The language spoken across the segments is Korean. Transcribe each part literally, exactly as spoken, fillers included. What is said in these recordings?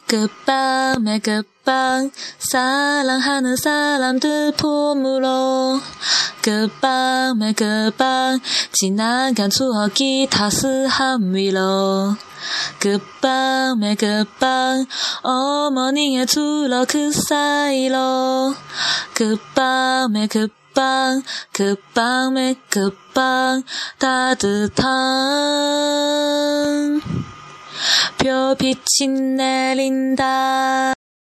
끝밤의 끝밤 사랑하는 사람들 품으로 끝밤의 끝밤 지나간 추억이 따스함 위로 끝밤의 끝밤 어머니의 주러 그 사이로 끝밤의 끝밤 끝밤의 끝밤 따뜻한 별빛이 내린다.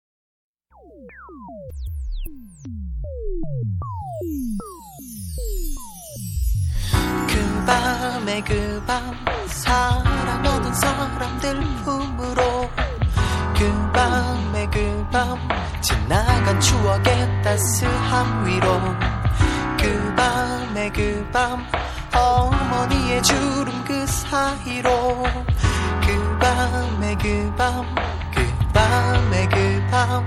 그 밤에 그 밤 사랑하는 사람들 품으로 그 밤에 그 밤 지나간 추억의 따스함 위로 그 밤에 그 밤 어머니의 주름 그 사이로 그 밤에 그 밤 그 밤에 그 밤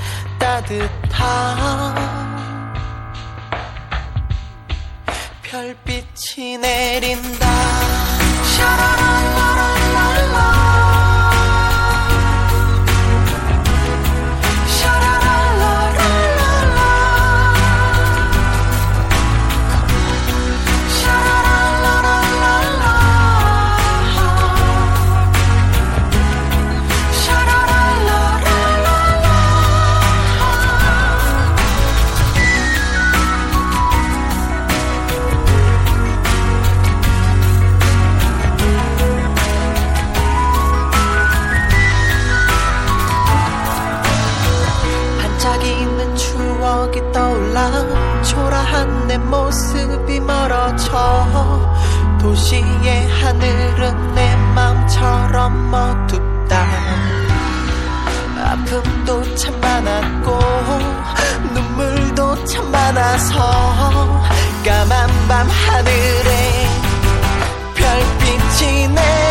따뜻한 별빛이 내린다. 샤라랄라랄랄라 떠올라 초라한 내 모습이 멀어져 도시의 하늘은 내 맘처럼 어둡다. 아픔도 참 많았고 눈물도 참 많아서 까만 밤 하늘에 별빛이 내